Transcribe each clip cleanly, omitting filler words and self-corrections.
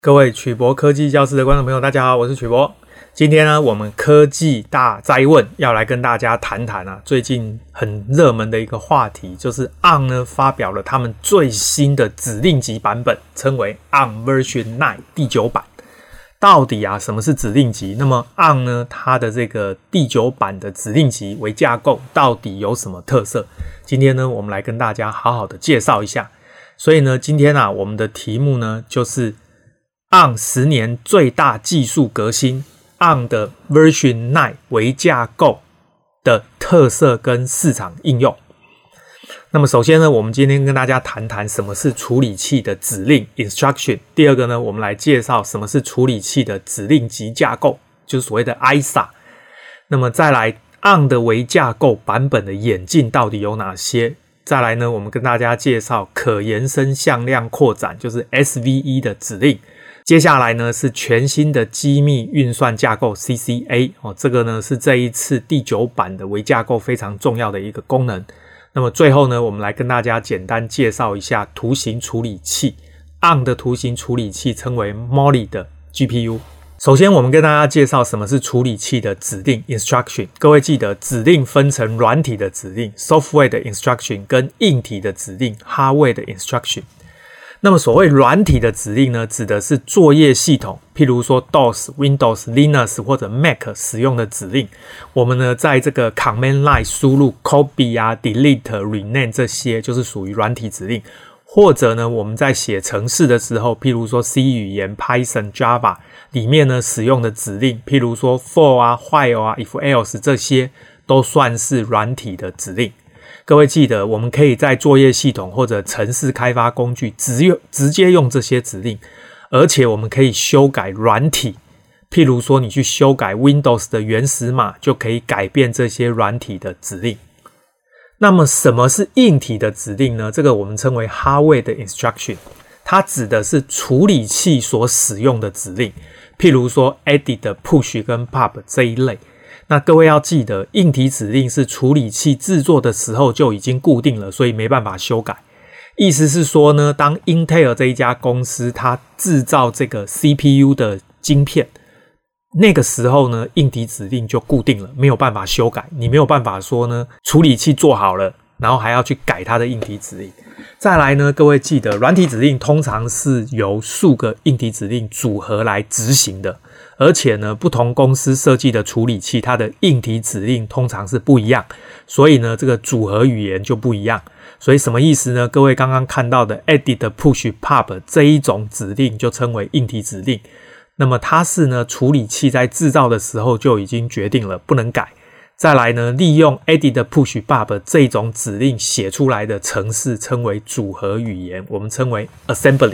各位曲博科技教室的觀眾朋友，大家好，我是曲博。今天呢，我們科技大哉問要來跟大家談談最近很熱門的一個話題，就是 ARM 呢發表了他們最新的指令集版本，稱為 ARM Version 9第9版。到底什麼是指令集？那麼 ARM 呢，它的這個第9版的指令集為架構到底有什麼特色？今天呢，我們來跟大家好好的介紹一下。所以呢，今天我們的題目呢就是ARM 10年最大技術革新 ARM 的 Version 9為架構的特色跟市場應用。那麼首先呢，我們今天跟大家談談什麼是處理器的指令 Instruction。第二個呢，我們來介紹什麼是處理器的指令集架構，就是所謂的 ISA。那麼再來 ARM 的為架構版本的演進到底有哪些？再來呢，我們跟大家介紹可延伸向量擴展，就是 SVE 的指令。接下來呢是全新的機密運算架構 CCA， 這個呢是這一次第9版的微架構非常重要的一個功能。那麼最後呢，我們來跟大家簡單介紹一下圖形處理器。ARM 的圖形處理器稱為 Mali 的 GPU。首先我們跟大家介紹什麼是處理器的指令 Instruction。各位記得指令分成軟體的指令 Software 的 Instruction 跟硬體的指令 Hardware 的 Instruction。那麼所謂軟體的指令呢，指的是作業系統，譬如說 DOS、Windows、Linux 或者 Mac 使用的指令。我們呢在這個 Command Line 輸入 Copy、Delete、Rename 這些就是屬於軟體指令。或者呢我們在寫程式的時候，譬如說 C 語言、Python、Java 裡面呢使用的指令，譬如說 For、While、If-Else 這些都算是軟體的指令。各位記得，我們可以在作業系統或者程式開發工具直接用這些指令，而且我們可以修改軟體，譬如說你去修改 Windows 的原始碼，就可以改變這些軟體的指令。那麼什麼是硬體的指令呢？這個我們稱為 Hardware 的 Instruction， 它指的是處理器所使用的指令，譬如說 Edit、Push 跟 Pop 這一類。那各位要記得，硬體指令是處理器制作的時候就已經固定了，所以沒辦法修改。意思是說呢，當 Intel 這一家公司它制造這個 CPU 的晶片，那個時候呢，硬體指令就固定了，沒有辦法修改。你沒有辦法說呢，處理器做好了，然後還要去改它的硬體指令。再來呢，各位记得，軟體指令通常是由數個硬體指令組合來執行的。而且呢，不同公司設計的處理器，它的硬體指令通常是不一樣，所以呢，這個組合語言就不一樣。所以什麼意思呢？各位剛剛看到的 Edit、Push、Pop 這一種指令就稱為硬體指令。那麼它是呢，處理器在制造的時候就已經決定了，不能改。再來呢，利用 Edit、Push、Pop 這種指令寫出來的程式稱為組合語言，我們稱為 Assembly。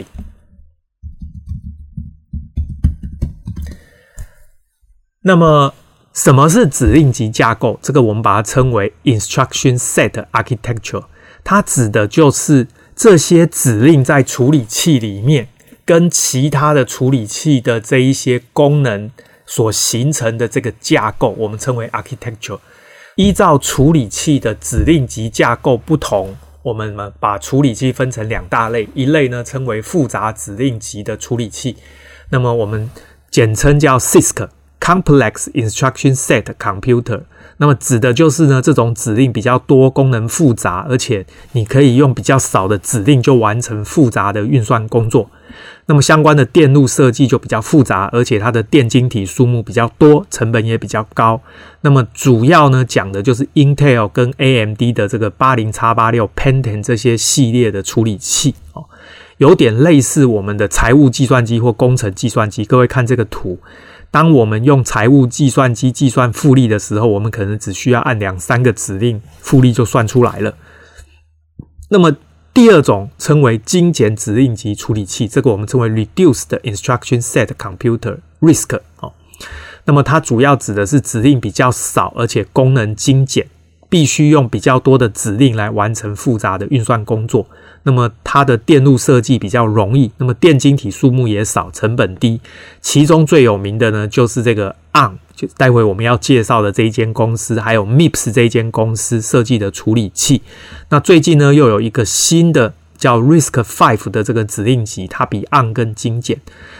那麼什麼是指令集架構？這個我們把它稱為 Instruction Set Architecture。它指的就是這些指令在處理器裡面跟其他的處理器的這一些功能所形成的這個架構，我們稱為 Architecture。依照處理器的指令集架構不同，我們把處理器分成2大類，一類呢稱為複雜指令集的處理器，那麼我們簡稱叫 CISC。Complex Instruction Set Computer， 那麼指的就是呢，這種指令比較多，功能複雜，而且你可以用比較少的指令就完成複雜的運算工作。那麼相關的電路設計就比較複雜，而且它的電晶體數目比較多，成本也比較高。那麼主要呢講的就是 Intel 跟 AMD 的這個 80x86、Pentium 這些系列的處理器有點類似我們的財務計算機或工程計算機。各位看這個圖，當我們用財務計算機計算複利的時候，我們可能只需要按2-3個指令，複利就算出來了。那麼第二種稱為精簡指令集處理器，這個我們稱為 Reduced Instruction Set Computer RISC。那麼它主要指的是指令比較少，而且功能精簡，必須用比較多的指令來完成複雜的運算工作。那麼它的電路設計比較容易，那麼電晶體數目也少，成本低。其中最有名的呢，就是這個 ARM， 就待會我們要介紹的這一間公司，還有 MIPS 這一間公司設計的處理器。那最近呢，又有一個新的叫 RISC-V 的這個指令集，它比 ARM 更精簡。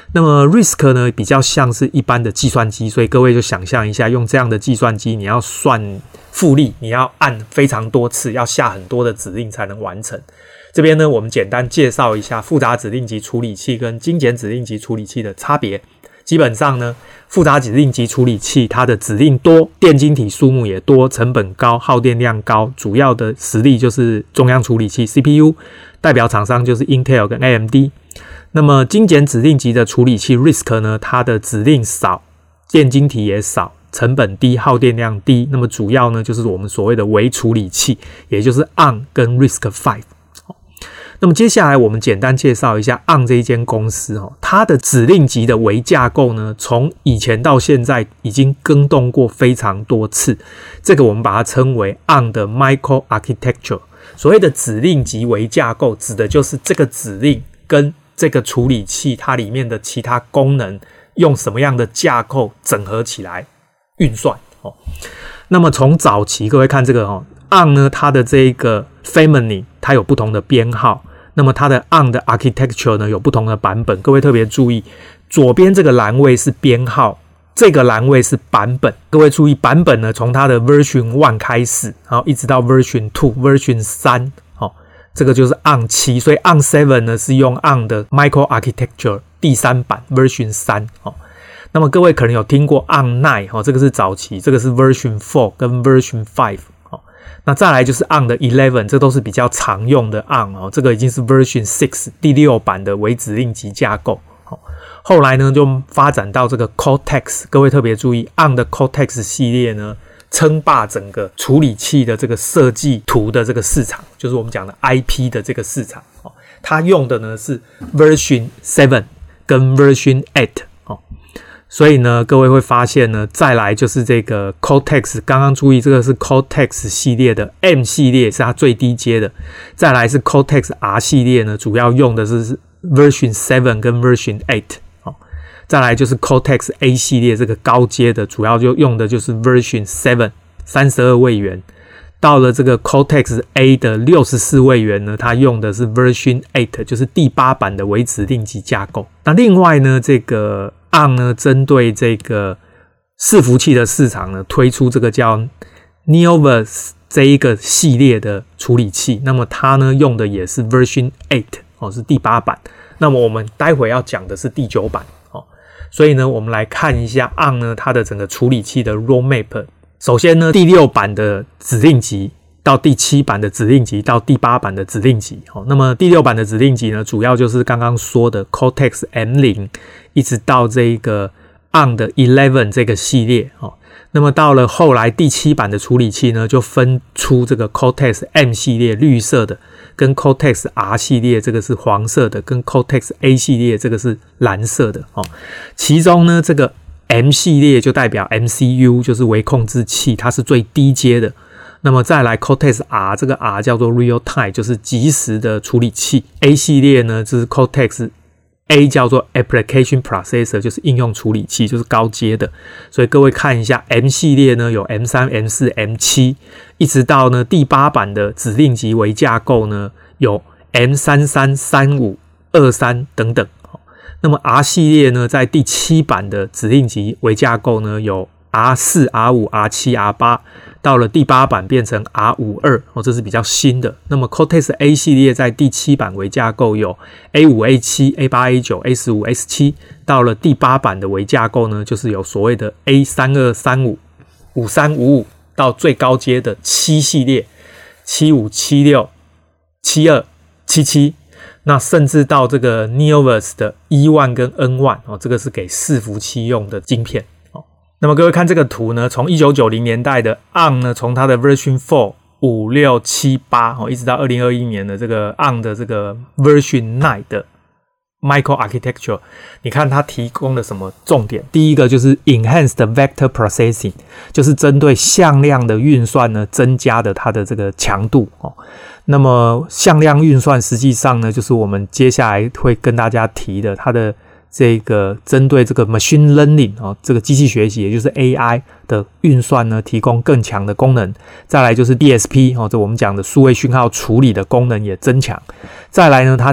那麼 RISC 呢比較像是一般的計算機，所以各位就想象一下，用這樣的計算機，你要算複利，你要按非常多次，要下很多的指令才能完成。這邊呢，我們簡單介紹一下複雜指令集處理器跟精簡指令集處理器的差別。基本上呢，複雜指令集處理器它的指令多，電晶體數目也多，成本高，耗電量高，主要的實力就是中央處理器 CPU， 代表廠商就是 Intel 跟 AMD。那麼精簡指令集的處理器 RISC 呢，它的指令少，電晶體也少，成本低，耗電量低。那麼主要呢就是我們所謂的微處理器，也就是 ARM 跟 RISC-V。那麼接下來我們簡單介紹一下 ARM 這一間公司它的指令集的微架構呢，從以前到現在已經更動過非常多次，這個我們把它稱為 ARM 的 Microarchitecture。所謂的指令集微架構，指的就是這個指令跟這個處理器它裡面的其他功能用什麼樣的架構整合起來運算。那麼從早期各位看這個ARM 呢，它的這個 family 它有不同的編號，那麼它的 ARM 的 architecture 呢有不同的版本。各位特別注意，左邊這個欄位是編號，這個欄位是版本。各位注意，版本呢從它的 version 1開始，然後一直到 version 2、version 3，這個就是 ARM 7，所以 ARM 7呢是用 ARM 的 microarchitecture 第3版 version 3。那麼各位可能有聽過 ARM 9，這個是早期，這個是 version 4跟 version 5。那再來就是 ARM 的11，這都是比較常用的 ARM， 這個已經是 version 6第6版的微指令集架構。後來呢就發展到這個 Cortex， 各位特別注意 ARM 的 Cortex 系列呢稱霸整個處理器的這個設計圖的這個市場，就是我們講的 IP 的這個市場。它用的呢是 version 7跟 version 8。所以呢，各位會發現呢，再來就是這個 Cortex， 剛剛注意這個是 Cortex 系列的 M 系列是它最低階的，再來是 Cortex R 系列呢，主要用的是 version 7跟 version 8。再來就是 Cortex A 系列這個高階的，主要就用的就是 version 7 32位元。到了這個 Cortex A 的64位元呢，它用的是 version 8，就是第8版的微指令集架構。那另外呢，這個ARM 呢，針對這個伺服器的市場呢，推出這個叫 Neoverse 這一個系列的處理器。那麼它呢用的也是 version 8，是第8版。那麼我們待會要講的是第9版。所以呢，我們來看一下 ARM 呢它的整個處理器的 roadmap。首先呢，第6版的指令集到第7版的指令集到第8版的指令集。那麼第6版的指令集呢，主要就是剛剛說的 Cortex M0 一直到這個 ARM 的11這個系列。那麼到了後來第7版的處理器呢，就分出這個 Cortex M 系列綠色的，跟 Cortex R 系列這個是黃色的，跟 Cortex A 系列這個是藍色的。其中呢，這個 M 系列就代表 MCU， 就是微控制器，它是最低階的。那麼再來 Cortex R， 這個 R 叫做 Real Time， 就是即時的處理器。A 系列呢，就是 Cortex A 叫做 Application Processor， 就是應用處理器，就是高階的。所以各位看一下 M 系列呢，有 M3、M4、M7， 一直到呢第8版的指令集微架構呢，有 M33、35、23等等。那麼 R 系列呢，在第7版的指令集微架構呢，有 R4、R5、R7、R8， 到了第8版变成 R52， 這是比較新的。那麼 Cortex A 系列在第7版微架構有 A5、A7、A8、A9、A15、A17， 到了第8版的微架構呢，就是有所謂的 A32、35、53、55，到最高階的7系列75、76、72、77。那甚至到這個 Neoverse 的 E1 跟 N1， 這個是給伺服器用的晶片。那麼各位看這個圖呢，從1990年代的 ARM 呢，從它的 version 4、5、6、7、8，一直到2021年的這個 ARM 的這個 version 9的 Microarchitecture， 你看它提供了什麼重點？第一個就是 Enhanced Vector Processing， 就是針對向量的運算呢，增加的它的這個強度。那麼向量運算實際上呢，就是我們接下來會跟大家提的，它的這個針對這個 machine learning 這個機器學習，也就是 AI 的運算呢，提供更強的功能。再來就是 DSP 這我們講的數位訊號處理的功能也增強。再來呢，它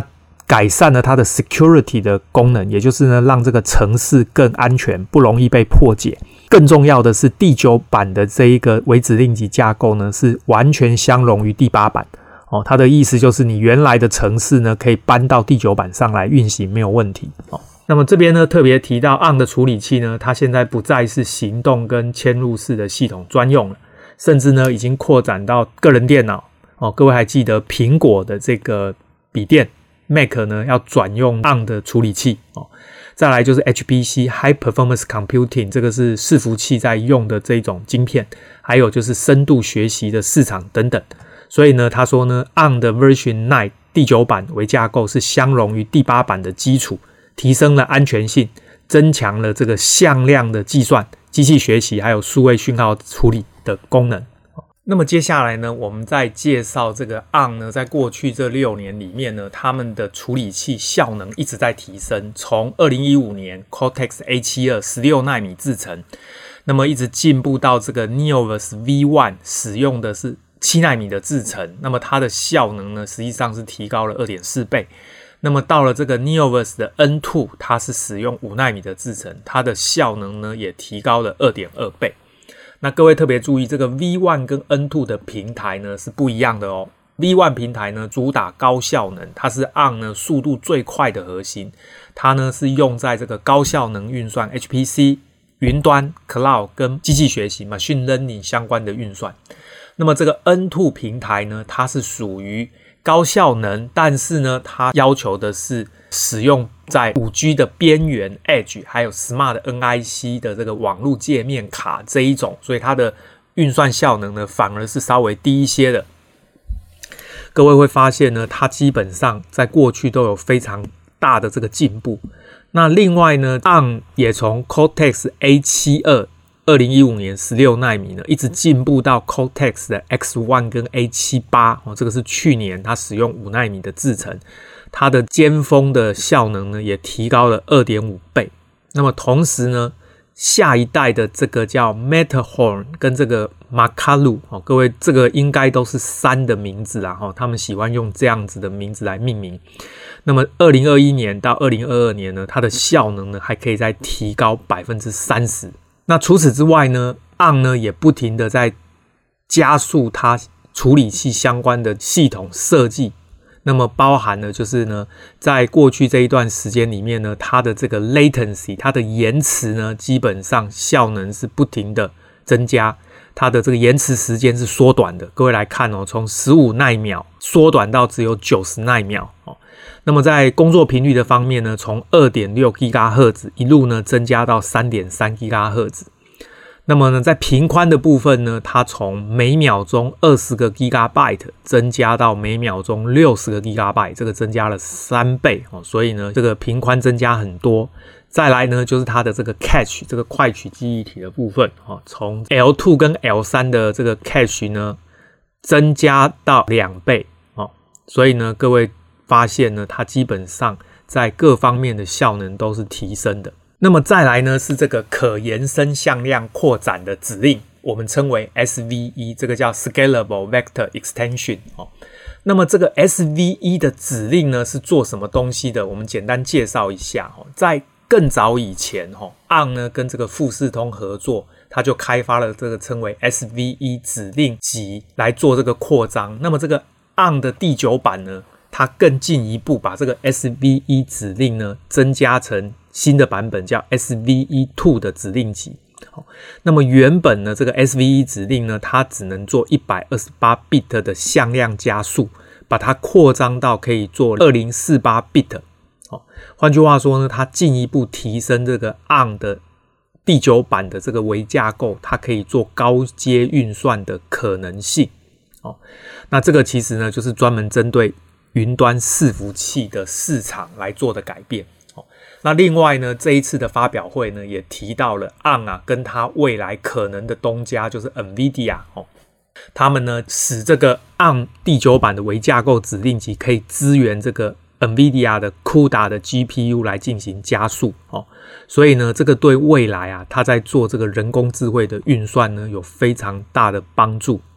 改善了它的 security 的功能，也就是呢讓這個程式更安全，不容易被破解。更重要的是第9版的這一個微指令集架構呢是完全相容於第8版。它的意思就是你原來的程式呢可以搬到第9版上來運行，沒有問題。那麼這邊呢特別提到 ARM 的處理器呢，它現在不再是行動跟嵌入式的系統專用了，甚至呢已經擴展到個人電腦。各位還記得蘋果的這個筆電 Mac 呢要轉用 ARM 的處理器。再來就是 HPC High Performance Computing， 這個是伺服器在用的這種晶片，還有就是深度學習的市場等等。所以呢他說呢 ARM 的 Version 9第9版微架構是相容於第8版的基礎，提升了安全性，增強了這個向量的計算、機器學習還有數位訊號處理的功能。那麼接下來呢我們再介紹這個 ARM 呢在過去這6年裡面呢，他們的處理器效能一直在提升，從2015年 Cortex A72 16奈米製程，那麼一直進步到這個 Neoverse V1 使用的是7奈米的製程，那麼它的效能呢實際上是提高了 2.4 倍。那麼到了這個 Neoverse 的 N2， 它是使用5奈米的製程，它的效能呢也提高了 2.2 倍。那各位特別注意，這個 V1 跟 N2 的平台呢是不一樣的哦。V1 平台呢主打高效能，它是 ARM 呢速度最快的核心，它呢是用在這個高效能運算 HPC、雲端、Cloud 跟機器學習 Machine Learning 相關的運算。那麼這個 N2 平台呢，它是屬於高效能，但是呢它要求的是使用在 5G 的邊緣 Edge 還有 Smart NIC 的這個網絡界面卡這一種，所以它的運算效能呢反而是稍微低一些的。各位會發現呢，它基本上在過去都有非常大的這個進步。那另外呢 ARM 也從 Cortex A72 2015年16奈米呢一直進步到 Cortex 的 X1 跟 A78，這個是去年它使用5奈米的製程，它的尖峰的效能呢也提高了 2.5 倍。那麼同時呢下一代的这個叫 Matterhorn 跟这個 Makalu， 各位這個應該都是山的名字啦，他們喜歡用這樣子的名字來命名。那麼2021年到2022年呢，它的效能呢還可以再提高 30%。那除此之外呢 ARM 呢也不停的在加速它處理器相關的系統設計，那麼包含了就是呢在過去這一段時間裡面呢，它的這個 latency 它的延遲呢基本上效能是不停的增加，它的這個延遲時間是縮短的。各位來看哦，從15奈秒縮短到只有90奈秒哦。那麼在工作頻率的方面呢，從 2.6 GHz 一路呢增加到 3.3 GHz。那麼呢在頻寬的部分呢，它從每秒鐘20個 GB 增加到每秒鐘60個 GB， 這個增加了3倍哦，所以呢這個頻寬增加很多。再來呢就是它的這個 cache 這個快取記憶體的部分哦，從 L2 跟 L3 的這個 cache 呢增加到2倍哦，所以呢各位發現呢它基本上在各方面的效能都是提升的。那麼再來呢是這個可延伸向量擴展的指令，我們稱為 SVE， 這個叫 Scalable Vector Extension 哦。那麼這個 SVE 的指令呢是做什麼東西的？我們簡單介紹一下哦。在更早以前ARM 呢跟這個富士通合作，它就開發了這個稱為 SVE 指令集來做這個擴張。那麼這個 ARM 的第9版呢，它更進一步把這個 SVE 指令呢增加成新的版本，叫 SVE2 的指令集。那麼原本呢這個 SVE 指令呢，它只能做128 bit 的向量加速，把它擴張到可以做2048 bit。換句話說呢，它進一步提升這個 ARM 的第9版的這個微架構，它可以做高階運算的可能性。那這個其實呢就是專門針對雲端伺服器的市場來做的改變。那另外呢，這一次的發表會呢也提到了 ARM 跟它未來可能的東家就是 NVIDIA 他們呢使這個 ARM 第9版的微架構指令集可以支援這個 NVIDIA 的 CUDA 的 GPU 來進行加速所以呢這個對未來它在做這個人工智慧的運算呢有非常大的幫助。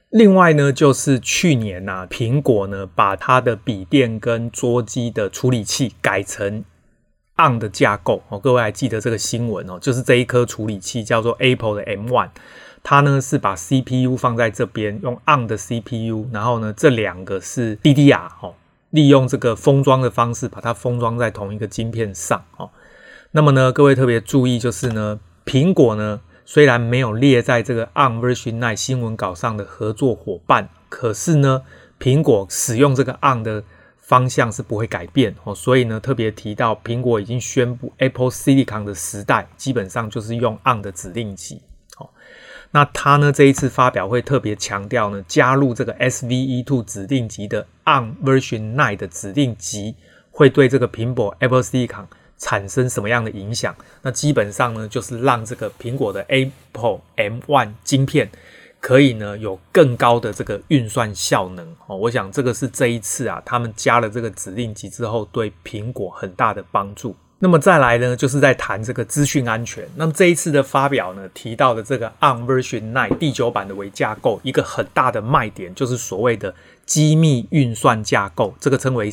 另外呢，就是去年啊，蘋果呢把它的筆電跟桌機的處理器改成 ARM 的架構哦，各位還記得這個新聞哦？就是這一顆處理器叫做 Apple 的 M1， 它呢是把 CPU 放在這邊，用 ARM 的 CPU， 然後呢這兩個是 DDR 哦，利用這個封裝的方式把它封裝在同一個晶片上哦。那麼呢，各位特別注意，就是呢，蘋果呢雖然沒有列在這個 ARM Version 9新聞稿上的合作夥伴，可是呢，蘋果使用這個 ARM 的方向是不會改變哦，所以呢，特別提到蘋果已經宣布 Apple Silicon 的時代基本上就是用 ARM 的指令集哦。那它呢這一次發表會特別強調呢，加入這個 SVE2 指令集的 ARM Version 9的指令集會對這個蘋果 Apple Silicon 產生什麼樣的影響？那基本上呢，就是讓這個蘋果的 Apple M1 晶片可以呢有更高的這個運算效能哦。我想這個是這一次啊，他們加了這個指令集之後，對蘋果很大的幫助。那麼再來呢，就是在談這個資訊安全。那麼這一次的發表呢，提到的這個 ARM Version 9第9版的微架構，一個很大的賣點就是所謂的機密運算架構，這個稱為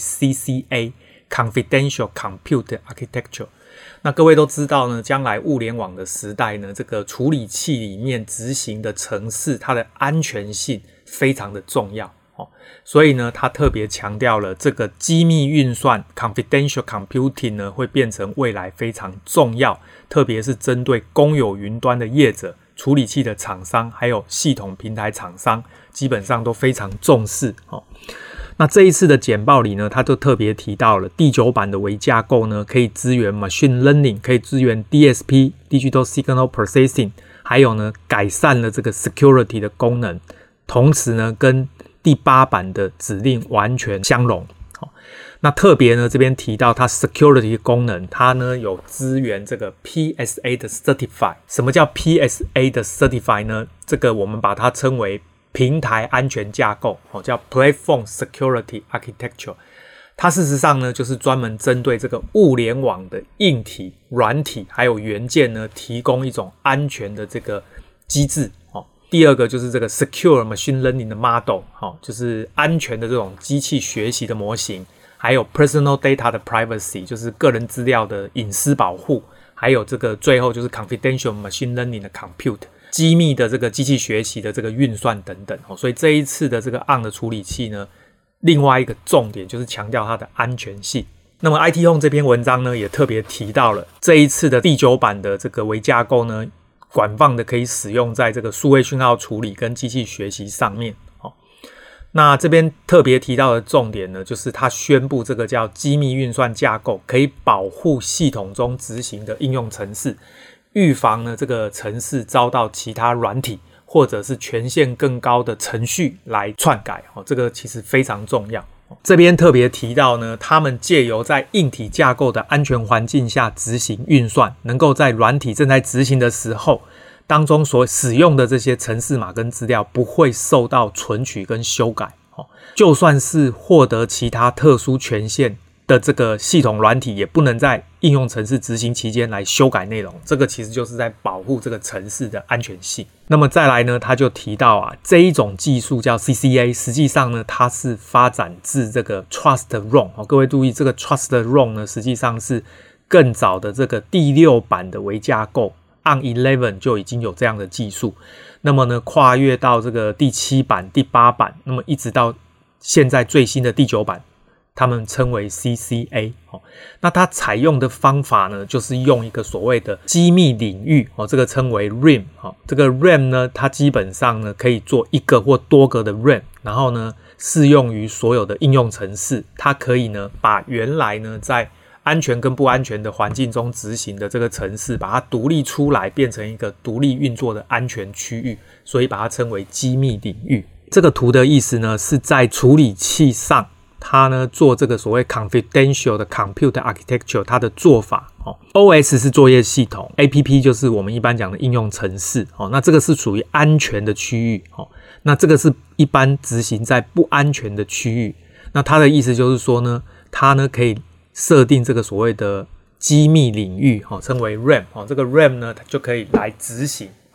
CCA。Confidential Compute Architecture。那各位都知道呢，將來物聯網的時代呢，這個處理器裡面執行的程式，它的安全性非常的重要哦。所以呢，他特別強調了這個機密運算 Confidential Computing 呢，會變成未來非常重要，特別是針對公有雲端的業者、處理器的廠商，還有系統平台廠商，基本上都非常重視哦。那這一次的簡報裡呢，他就特別提到了第9版的微架構呢，可以支援 Machine Learning， 可以支援 DSP、Digital Signal Processing， 還有呢改善了這個 Security 的功能，同時呢跟第8版的指令完全相容。那特別呢這邊提到它 Security 的功能，它呢有支援這個 PSA 的 Certify。什麼叫 PSA 的 Certify 呢？這個我們把它稱為平台安全架構，叫 Platform Security Architecture。它事實上呢，就是專門針對這個物聯網的硬體、軟體還有元件呢，提供一種安全的這個機制。第二個就是這個 Secure Machine Learning 的 Model， 就是安全的這種機器學習的模型，還有 Personal Data 的 Privacy， 就是個人資料的隱私保護，還有這個最後就是 Confidential Machine Learning 的 Compute。機密的這個機器學習的這個運算等等，所以這一次的這個 ARM 的處理器呢，另外一個重點就是強調它的安全性。那麼 IT Home 這篇文章呢，也特別提到了這一次的第9版的這個微架構呢，廣泛的可以使用在這個數位訊號處理跟機器學習上面。那這邊特別提到的重點呢，就是它宣布這個叫機密運算架構，可以保護系統中執行的應用程式，預防呢這個程式遭到其他軟體或者是權限更高的程序來篡改哦，這個其實非常重要。這邊特別提到呢，他們借由在硬體架構的安全環境下執行運算，能夠在軟體正在執行的時候當中所使用的這些程式碼跟資料不會受到存取跟修改哦，就算是獲得其他特殊權限的這個系統軟體也不能在應用程式執行期間來修改內容，這個其實就是在保護這個程式的安全性。那麼再來呢，他就提到啊，這一種技術叫 CCA， 實際上呢，它是發展自這個 Trusted-ROM。各位注意，這個 Trusted-ROM 呢，實際上是更早的這個第6版的微架構 ARM 11就已經有這樣的技術。那麼呢，跨越到這個第7版、第8版，那麼一直到現在最新的第9版。他們稱為 CCA， 那它採用的方法呢，就是用一個所謂的機密領域，這個稱為 RAM， 這個 RAM 呢，它基本上呢可以做一個或多個的 RAM， 然後呢適用於所有的應用程式，它可以呢把原來呢在安全跟不安全的環境中執行的這個程式，把它獨立出來，變成一個獨立運作的安全區域，所以把它稱為機密領域。這個圖的意思呢，是在處理器上它呢做這個所謂 confidential 的 compute architecture， 它的做法OS 是作業系統 ，APP 就是我們一般講的應用程式那這個是屬於安全的區域那這個是一般執行在不安全的區域。那它的意思就是說呢，它呢可以設定這個所謂的機密領域稱為 RAM 這個 RAM 呢它就可以來執行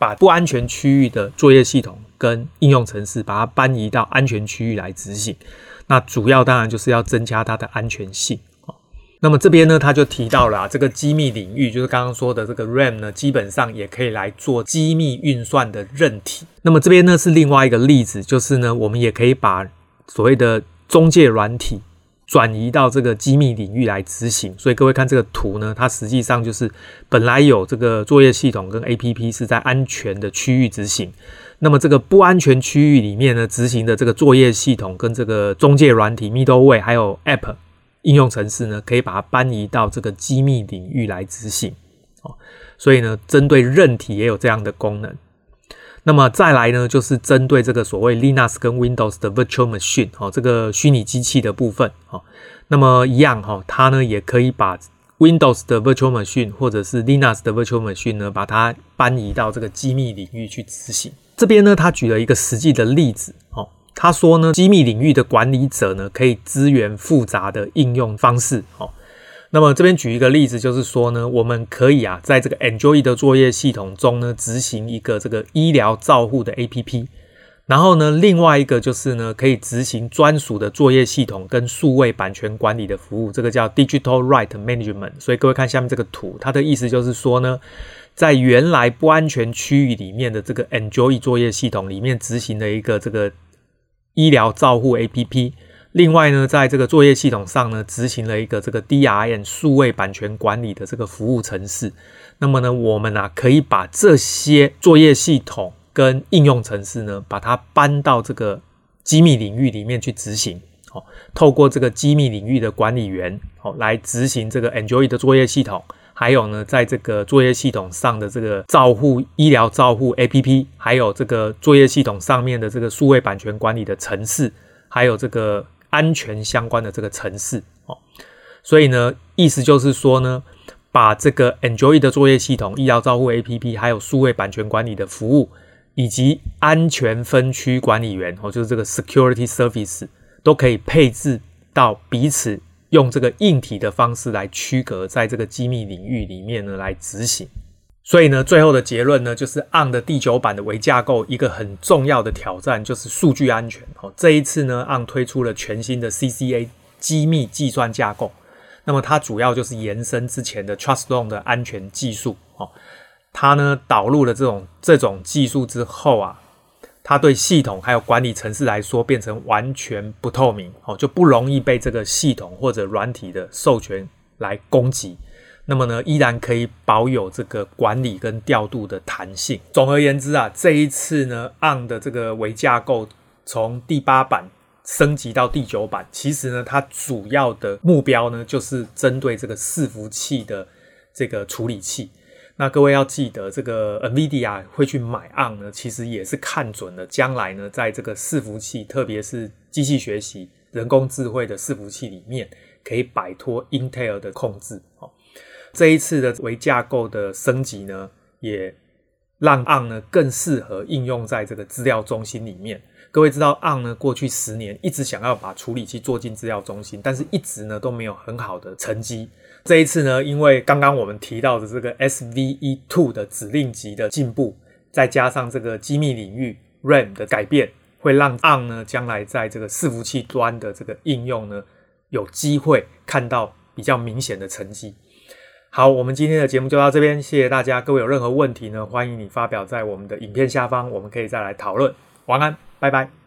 把不安全區域的作業系統跟應用程式把它搬移到安全區域來執行。那主要當然就是要增加它的安全性。那麼這邊呢，他就提到了這個機密領域，就是剛剛說的這個 RAM 呢，基本上也可以來做機密運算的韌體。那麼這邊呢是另外一個例子，就是呢我們也可以把所謂的中介軟體轉移到這個機密領域來執行。所以各位看這個圖呢，它實際上就是本來有這個作業系統跟 APP 是在安全的區域執行，那麼這個不安全區域裡面呢執行的這個作業系統跟這個中介軟體 Middleware 還有 App應用程式呢，可以把它搬移到這個機密領域來執行。所以呢，針對韌體也有這樣的功能。那麼再來呢，就是針對這個所謂 Linux 跟 Windows 的 Virtual Machine 這個虛擬機器的部分。那麼一樣它呢也可以把 Windows 的 Virtual Machine 或者是 Linux 的 Virtual Machine 呢，把它搬移到這個機密領域去執行。這邊呢，他舉了一個實際的例子。他說呢，機密領域的管理者呢，可以支援複雜的應用方式。那麼這邊舉一個例子，就是說呢，我們可以在這個 Android 的作業系統中呢，執行一個這個醫療照護的 APP， 然後呢，另外一個就是呢，可以執行專屬的作業系統跟數位版權管理的服務，這個叫 Digital Right Management。所以各位看下面這個圖，它的意思就是說呢，在原來不安全區域裡面的這個 Android 作業系統裡面執行的一個這個醫療照護 APP， 另外呢，在這個作業系統上呢，執行了一個這個 DRM 數位版權管理的這個服務程式。那麼呢，我們可以把這些作業系統跟應用程式呢，把它搬到這個機密領域裡面去執行。透過這個機密領域的管理員來執行這個 Android 的作業系統。還有呢，在這個作業系統上的這個醫療照護 APP， 還有這個作業系統上面的這個數位版權管理的程式，還有這個安全相關的這個程式。所以呢，意思就是說呢，把這個 Android 的作業系統、醫療照護 APP， 還有數位版權管理的服務，以及安全分區管理員，就是這個 Security Service， 都可以配置到彼此用這個硬體的方式來區隔，在這個機密領域裡面呢來執行。所以呢，最後的結論呢，就是 ARM 的第9版的微架構一個很重要的挑戰就是數據安全。這一次呢 ，ARM 推出了全新的 CCA 機密計算架構。那麼它主要就是延伸之前的 TrustZone 的安全技術。它呢導入了這種技術之後它對系統還有管理程式來說變成完全不透明，就不容易被這個系統或者軟體的授權來攻擊。那麼呢，依然可以保有這個管理跟調度的彈性。總而言之這一次呢 ARM 的這個微架構從第8版升級到第9版，其實呢它主要的目標呢就是針對這個伺服器的這個處理器。那各位要記得，這個 NVIDIA 會去買 ARM 呢，其實也是看準了將來呢，在這個伺服器，特別是機器學習、人工智慧的伺服器裡面，可以擺脫 Intel 的控制。這一次的微架構的升級呢，也讓 ARM 呢更適合應用在這個資料中心裡面。各位知道 ARM 呢過去10年一直想要把處理器做進資料中心，但是一直呢都沒有很好的成績。這一次呢，因為剛剛我們提到的這個 SVE2 的指令集的進步，再加上這個機密領域 RAM 的改變，會讓 ARM 呢將來在這個伺服器端的這個應用呢，有機會看到比較明顯的成績。好，我們今天的節目就到這邊，謝謝大家。各位有任何問題呢，歡迎你發表在我們的影片下方，我們可以再來討論。晚安，拜拜。